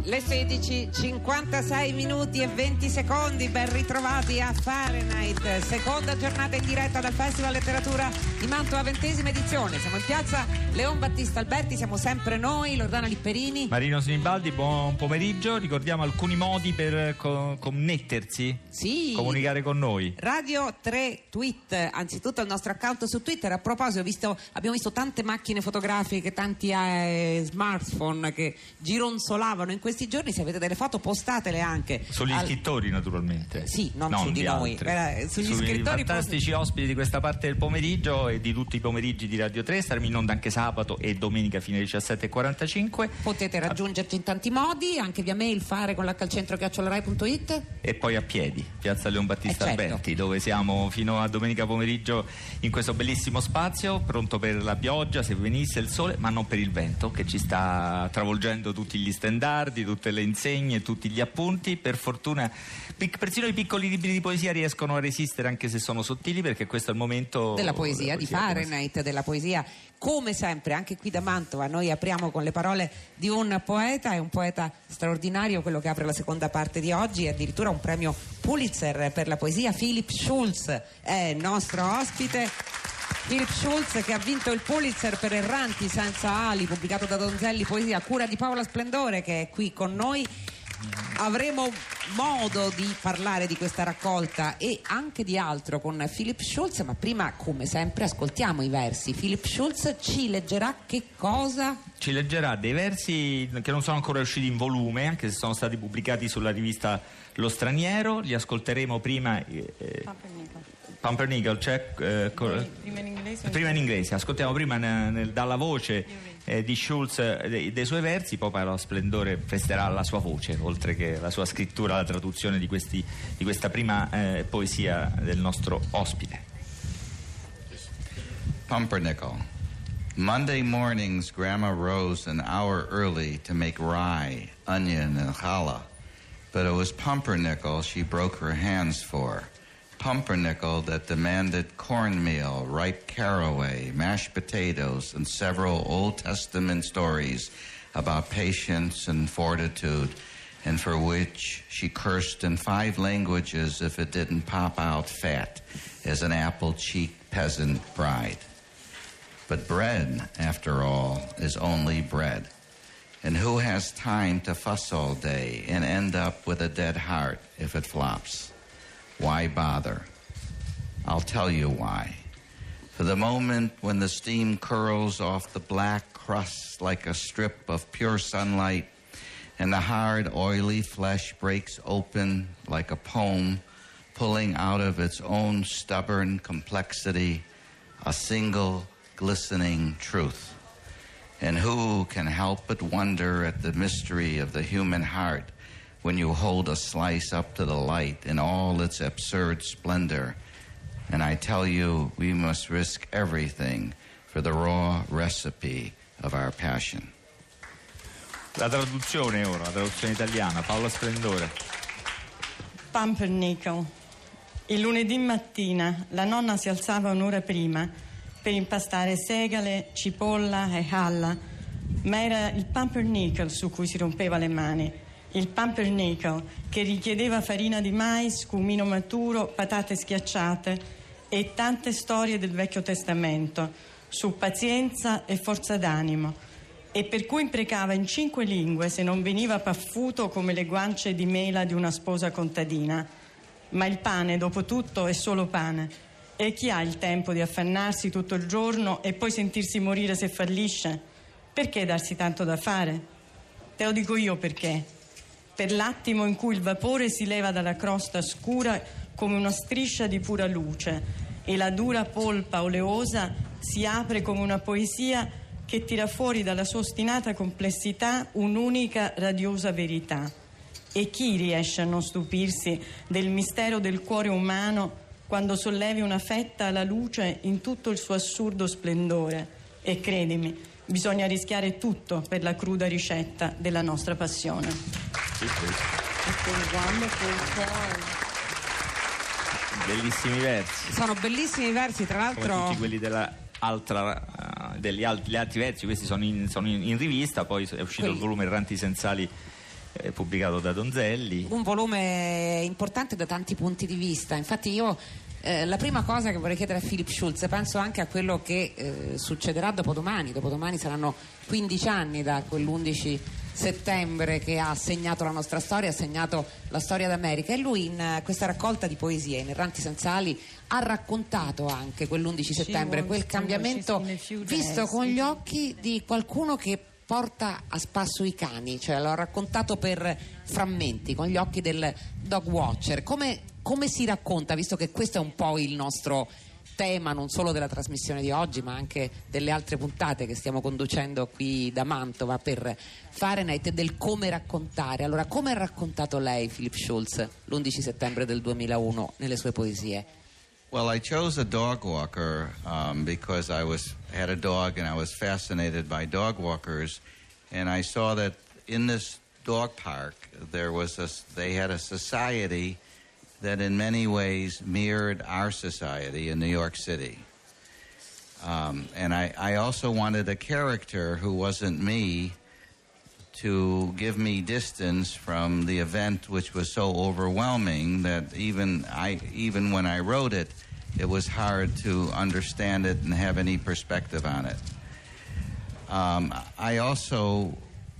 Le 16, 56 minuti e 20 secondi, ben ritrovati a Fahrenheit, seconda giornata in diretta dal Festival Letteratura di Mantova, 20ª edizione. Siamo in piazza Leon Battista Alberti, siamo sempre noi, Loredana Lipperini, Marino Sinibaldi, buon pomeriggio. Ricordiamo alcuni modi per connettersi, sì, comunicare con noi. Radio 3 Tweet, anzitutto il nostro account su Twitter. A proposito, abbiamo visto tante macchine fotografiche, tanti smartphone che gironzolavano in questi giorni. Se avete delle foto, postatele anche sugli scrittori, naturalmente. Sì, non su di noi, sugli scrittori, fantastici ospiti di questa parte del pomeriggio e di tutti i pomeriggi di Radio 3. Staremo in onda anche sabato e domenica fino alle 17:45. Potete raggiungerci in tanti modi, anche via mail, fare con l'hcentro@rai.it, e poi a piedi, piazza Leon Battista certo. Alberti, dove siamo fino a domenica pomeriggio in questo bellissimo spazio, pronto per la pioggia se venisse il sole, ma non per il vento che ci sta travolgendo tutti gli stendardi, tutte le insegne, tutti gli appunti. Per fortuna persino i piccoli libri di poesia riescono a resistere, anche se sono sottili, perché questo è il momento della poesia, di Fahrenheit, della poesia. Come sempre, anche qui da Mantova, noi apriamo con le parole di un poeta, è un poeta straordinario quello che apre la seconda parte di oggi, e addirittura un premio Pulitzer per la poesia. Philip Schulz è il nostro ospite. Philip Schulz, che ha vinto il Pulitzer per Erranti senza ali, pubblicato da Donzelli Poesia, a cura di Paola Splendore, che è qui con noi. Avremo modo di parlare di questa raccolta e anche di altro con Philip Schulz, ma prima, come sempre, ascoltiamo i versi. Philip Schulz ci leggerà che cosa? Ci leggerà dei versi che non sono ancora usciti in volume, anche se sono stati pubblicati sulla rivista Lo Straniero. Li ascolteremo prima Pumpernickel, prima in inglese. Ascoltiamo prima dalla voce di Schulz dei suoi versi, poi Paola Splendore presterà la sua voce, oltre che la sua scrittura, la traduzione di questa prima poesia del nostro ospite. Pumpernickel. Monday mornings, Grandma rose an hour early to make rye, onion, and challah. But it was pumpernickel she broke her hands for. Pumpernickel that demanded cornmeal, ripe caraway, mashed potatoes, and several Old Testament stories about patience and fortitude, and for which she cursed in 5 languages if it didn't pop out fat as an apple-cheeked peasant bride. But bread, after all, is only bread. And who has time to fuss all day and end up with a dead heart if it flops? Why bother? I'll tell you why. For the moment when the steam curls off the black crust like a strip of pure sunlight, and the hard, oily flesh breaks open like a poem, pulling out of its own stubborn complexity a single glistening truth. And who can help but wonder at the mystery of the human heart when you hold a slice up to the light in all its absurd splendor? And I tell you, we must risk everything for the raw recipe of our passion. La traduzione ora, la traduzione italiana, Paola Splendore. Pumpernickel. Il lunedì mattina la nonna si alzava un'ora prima per impastare segale, cipolla e halla, ma era il pumpernickel su cui si rompeva le mani. Il pumpernickel che richiedeva farina di mais, cumino maturo, patate schiacciate e tante storie del Vecchio Testamento su pazienza e forza d'animo, e per cui imprecava in 5 lingue se non veniva paffuto come le guance di mela di una sposa contadina. Ma il pane, dopo tutto, è solo pane, e chi ha il tempo di affannarsi tutto il giorno e poi sentirsi morire se fallisce? Perché darsi tanto da fare? Te lo dico io perché. Per l'attimo in cui il vapore si leva dalla crosta scura come una striscia di pura luce e la dura polpa oleosa si apre come una poesia che tira fuori dalla sua ostinata complessità un'unica radiosa verità. E chi riesce a non stupirsi del mistero del cuore umano quando sollevi una fetta alla luce in tutto il suo assurdo splendore? E credimi, bisogna rischiare tutto per la cruda ricetta della nostra passione. Bellissimi versi. Sono bellissimi versi, tra l'altro. Come tutti quelli degli altri versi, questi sono in rivista, poi è uscito il volume Erranti Sensali pubblicato da Donzelli. Un volume importante da tanti punti di vista. Infatti io la prima cosa che vorrei chiedere a Philip Schulz, penso anche a quello che succederà dopodomani. Dopodomani saranno 15 anni da quell'11 settembre che ha segnato la nostra storia, ha segnato la storia d'America, e lui in questa raccolta di poesie, in Erranti senza ali, ha raccontato anche quell'11 settembre, quel cambiamento visto con gli occhi di qualcuno che porta a spasso i cani, cioè l'ho raccontato per frammenti, con gli occhi del dog watcher. Come si racconta, visto che questo è un po' il nostro tema non solo della trasmissione di oggi ma anche delle altre puntate che stiamo conducendo qui da Mantova per Fahrenheit, del come raccontare. Allora, come ha raccontato lei, Philip Schulz, l'11 settembre del 2001 nelle sue poesie? Well, I chose a dog walker because I had a dog and I was fascinated by dog walkers, and I saw that in this dog park they had a society that in many ways mirrored our society in New York City. And I also wanted a character who wasn't me to give me distance from the event, which was so overwhelming that even when I wrote it, it was hard to understand it and have any perspective on it. I also,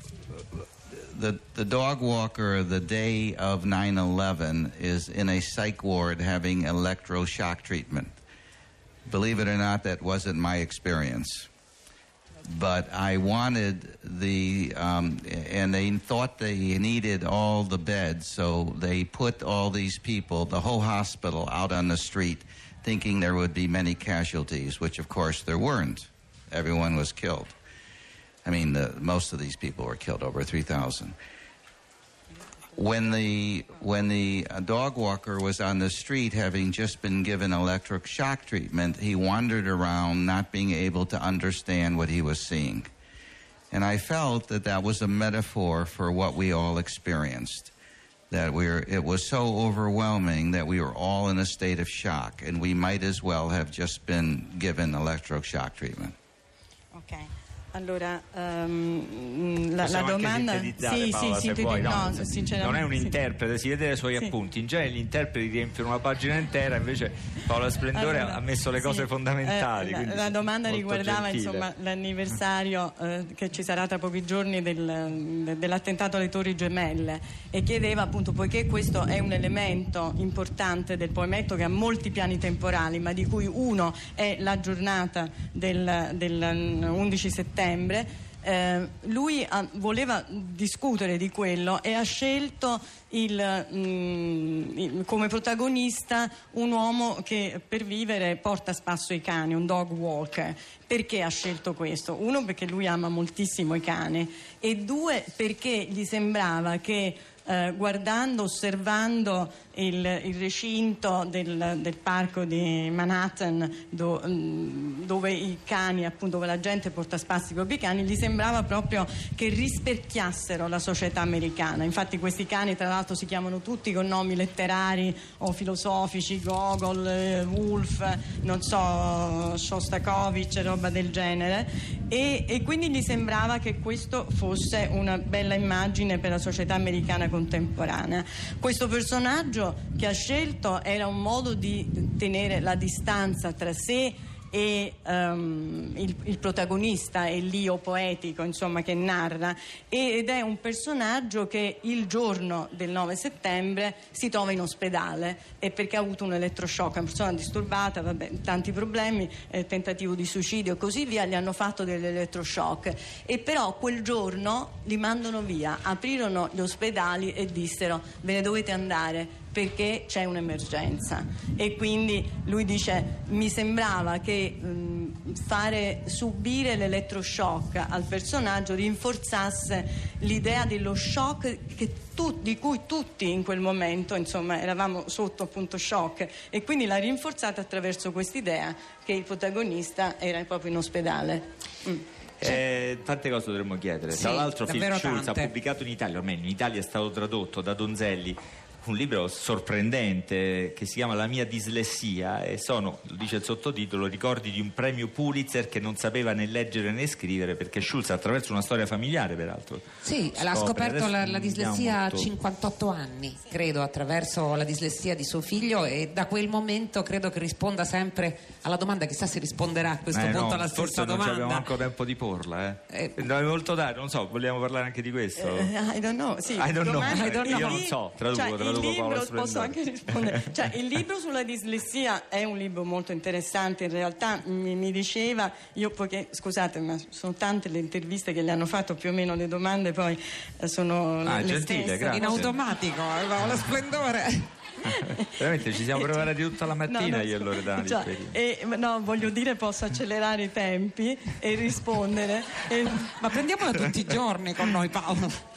the dog walker the day of 9/11 is in a psych ward having electroshock treatment. Believe it or not, that wasn't my experience. But I wanted and they thought they needed all the beds, so they put all these people, the whole hospital, out on the street, thinking there would be many casualties, which of course there weren't. Everyone was killed. I mean, most of these people were killed, over 3,000. When the dog walker was on the street, having just been given electric shock treatment, he wandered around, not being able to understand what he was seeing. And I felt that was a metaphor for what we all experienced. That it was so overwhelming that we were all in a state of shock, and we might as well have just been given electroshock treatment. Okay. Allora, la domanda Paola, se vuoi, non è un interprete, si vede dai suoi appunti. In genere gli interpreti riempiono una pagina intera, invece Paola Splendore ha messo le cose fondamentali. La domanda riguardava gentile. L'anniversario che ci sarà tra pochi giorni dell'attentato alle Torri Gemelle, e chiedeva appunto, poiché questo è un elemento importante del poemetto che ha molti piani temporali, ma di cui uno è la giornata del 11 settembre, lui voleva discutere di quello e ha scelto come protagonista un uomo che per vivere porta a spasso i cani, un dog walker. Perché ha scelto questo? Uno, perché lui ama moltissimo i cani, e due, perché gli sembrava che guardando, osservando il recinto del parco di Manhattan, dove i cani, appunto, dove la gente porta a spasso i propri cani, gli sembrava proprio che rispecchiassero la società americana. Infatti questi cani tra l'altro si chiamano tutti con nomi letterari o filosofici, Gogol, Woolf, non so, Shostakovich, roba del genere, e quindi gli sembrava che questo fosse una bella immagine per la società americana contemporanea. Questo personaggio che ha scelto era un modo di tenere la distanza tra sé e il protagonista è l'io poetico, insomma, che narra, ed è un personaggio che il giorno del 9 settembre si trova in ospedale, e perché ha avuto un elettroshock, è una persona disturbata, tanti problemi, tentativo di suicidio e così via, gli hanno fatto dell'elettroshock, e però quel giorno li mandano via, aprirono gli ospedali e dissero: ve ne dovete andare perché c'è un'emergenza. E quindi lui dice: mi sembrava che fare subire l'elettroshock al personaggio rinforzasse l'idea dello shock di cui tutti in quel momento, insomma, eravamo sotto appunto shock, e quindi l'ha rinforzata attraverso quest'idea che il protagonista era proprio in ospedale. Tante cose dovremmo chiedere. Tra l'altro Philip Schulz ha pubblicato in Italia, o almeno in Italia è stato tradotto da Donzelli, un libro sorprendente che si chiama La mia dislessia, e sono, lo dice il sottotitolo, ricordi di un premio Pulitzer che non sapeva né leggere né scrivere, perché Schulz, attraverso una storia familiare peraltro, sì, l'ha scoperto la dislessia a molto. 58 anni, credo, attraverso la dislessia di suo figlio, e da quel momento credo che risponda sempre alla domanda, chissà se risponderà a questo punto alla stessa forse domanda. non abbiamo manco tempo di porla, non è molto dare, non so, vogliamo parlare anche di questo? I don't know, sì. I don't know. Io non so, traduco il libro, Paola Splendore. posso anche rispondere. Cioè, il libro sulla dislessia è un libro molto interessante, in realtà mi diceva, io perché, scusate, ma sono tante le interviste che le hanno fatto, più o meno le domande poi sono le gentile, stesse. grazie. In automatico, Paola Splendore. Veramente ci siamo preparati tutta la mattina io e Loredana. No, voglio dire, posso accelerare i tempi e rispondere. Ma prendiamola tutti i giorni con noi, Paolo.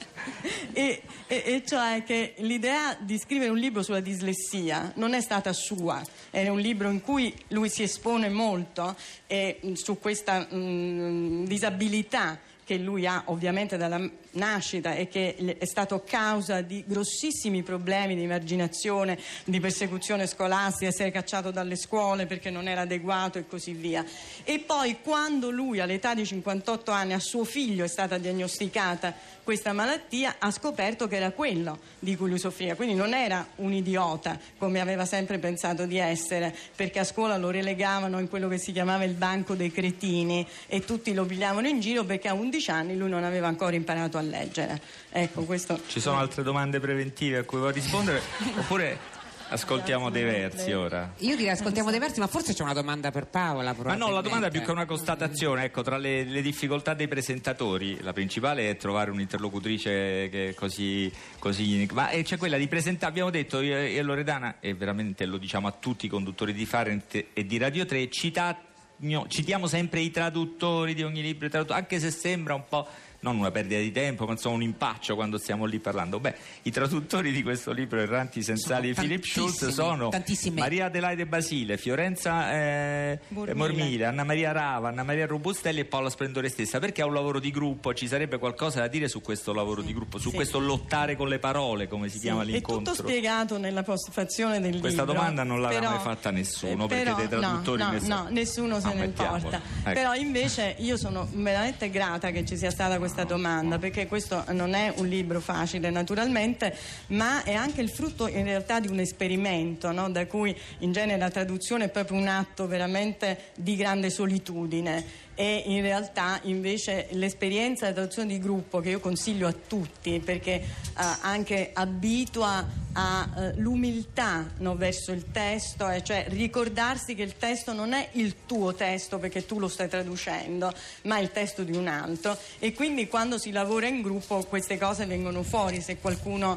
E cioè che l'idea di scrivere un libro sulla dislessia non è stata sua, è un libro in cui lui si espone molto su questa disabilità che lui ha ovviamente dalla nascita e che è stato causa di grossissimi problemi di emarginazione, di persecuzione scolastica, essere cacciato dalle scuole perché non era adeguato e così via. E poi quando lui all'età di 58 anni a suo figlio è stata diagnosticata questa malattia, ha scoperto che era quello di cui lui soffriva, quindi non era un idiota come aveva sempre pensato di essere, perché a scuola lo relegavano in quello che si chiamava il banco dei cretini e tutti lo pigliavano in giro perché a 11 anni lui non aveva ancora imparato a leggere. Ecco, questo. Ci sono altre domande preventive a cui vuoi rispondere oppure ascoltiamo dei versi ora? Io direi ascoltiamo dei versi, ma forse c'è una domanda per Paola. Ma no, la domanda è più che una constatazione. Ecco, tra le difficoltà dei presentatori, la principale è trovare un'interlocutrice che così ma c'è quella di presentare, abbiamo detto io e Loredana, e veramente lo diciamo a tutti i conduttori di Farent e di Radio 3, citiamo sempre i traduttori di ogni libro, anche se sembra un po' non una perdita di tempo, ma insomma un impaccio quando stiamo lì parlando. Beh, i traduttori di questo libro Erranti Sensali di Philip Schulz sono Maria Adelaide Basile, Fiorenza Mormile, Anna Maria Rava, Anna Maria Robustelli e Paola Splendore stessa. Perché è un lavoro di gruppo, ci sarebbe qualcosa da dire su questo lavoro di gruppo, su questo lottare con le parole, come si chiama l'incontro? È tutto spiegato nella postfazione del Questa libro. domanda non l'aveva mai fatta nessuno, perché dei traduttori nessuno se ne importa. Ecco. Però invece io sono veramente grata che ci sia stata questa domanda, perché questo non è un libro facile naturalmente, ma è anche il frutto in realtà di un esperimento, no? Da cui in genere la traduzione è proprio un atto veramente di grande solitudine. E in realtà invece l'esperienza della traduzione di gruppo, che io consiglio a tutti perché anche abitua all'umiltà, no, verso il testo, cioè ricordarsi che il testo non è il tuo testo perché tu lo stai traducendo, ma il testo di un altro, e quindi quando si lavora in gruppo queste cose vengono fuori, se qualcuno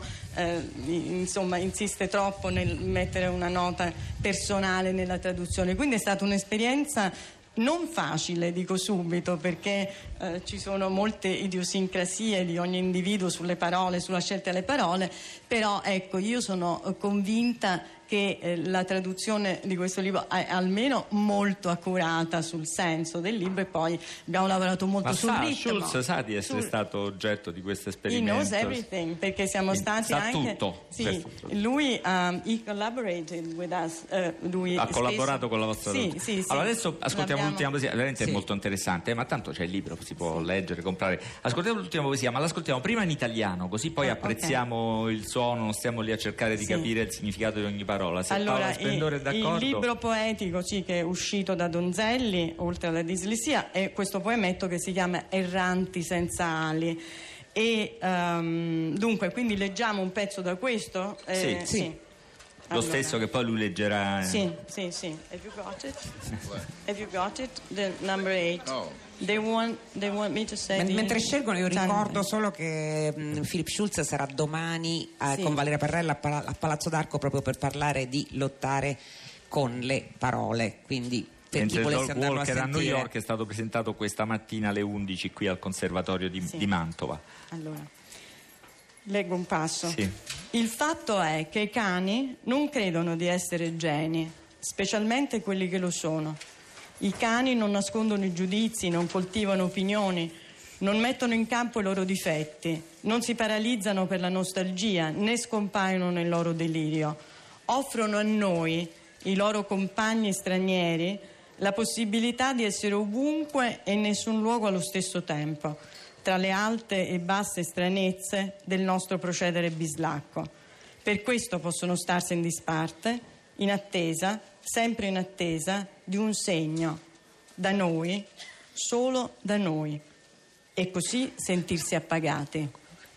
insiste troppo nel mettere una nota personale nella traduzione. Quindi è stata un'esperienza non facile, dico subito, perché ci sono molte idiosincrasie di ogni individuo sulle parole, sulla scelta delle parole, però ecco, io sono convinta che la traduzione di questo libro è almeno molto accurata sul senso del libro, e poi abbiamo lavorato molto sul ritmo. Schulz sa di essere stato oggetto di questo esperimento. He knows everything, perché siamo stati sa anche tutto. Sì, lui he collaborated with us, lui ha collaborato con la vostra traduzione. Sì. Allora adesso ascoltiamo l'ultima poesia, veramente è molto interessante, ma tanto c'è il libro, si può leggere, comprare. Ascoltiamo l'ultima poesia, ma l'ascoltiamo prima in italiano, così poi apprezziamo il suono, non stiamo lì a cercare di capire il significato di ogni parola. Se allora, Paola Splendore è d'accordo. Il libro poetico che è uscito da Donzelli, oltre alla dislessia, è questo poemetto che si chiama Erranti senza ali. E dunque, quindi leggiamo un pezzo da questo? Sì. Lo stesso che poi lui leggerà. Sì. Have you got it? The number 8. Oh. They want me to say. Mentre scelgono, io ricordo solo che Philip Schulz sarà domani con Valeria Parrella a Palazzo d'Arco proprio per parlare di lottare con le parole. Quindi per chi volesse andarlo a sentire. A New York è stato presentato questa mattina alle 11 qui al Conservatorio di Mantova. Allora, leggo un passo. Sì. Il fatto è che i cani non credono di essere geni, specialmente quelli che lo sono. I cani non nascondono i giudizi, non coltivano opinioni, Non mettono in campo i loro difetti, non si paralizzano per la nostalgia, né scompaiono nel loro delirio. Offrono a noi, i loro compagni stranieri, la possibilità di essere ovunque e in nessun luogo allo stesso tempo, tra le alte e basse stranezze del nostro procedere bislacco. Per questo possono starsi in disparte, in attesa, sempre in attesa di un segno, da noi, solo da noi, e così sentirsi appagati.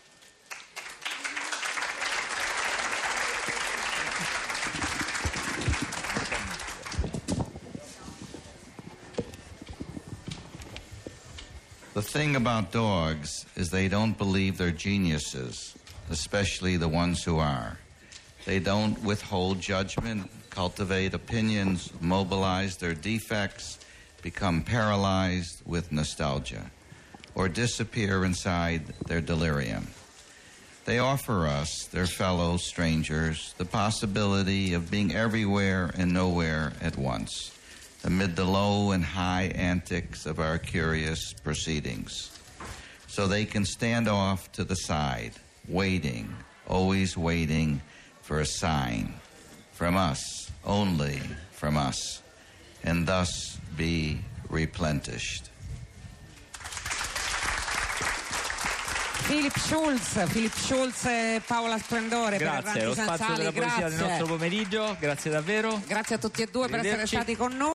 The thing about dogs is they don't believe they're geniuses, especially the ones who are. They don't withhold judgment, cultivate opinions, mobilize their defects, become paralyzed with nostalgia, or disappear inside their delirium. They offer us, their fellow strangers, the possibility of being everywhere and nowhere at once, amid the low and high antics of our curious proceedings. So they can stand off to the side, waiting, always waiting for a sign from us, only from us, and thus be replenished. Philip Schulz e Paola Splendore. Grazie, per lo spazio della poesia del nostro pomeriggio, grazie davvero. Grazie a tutti e due per essere stati con noi.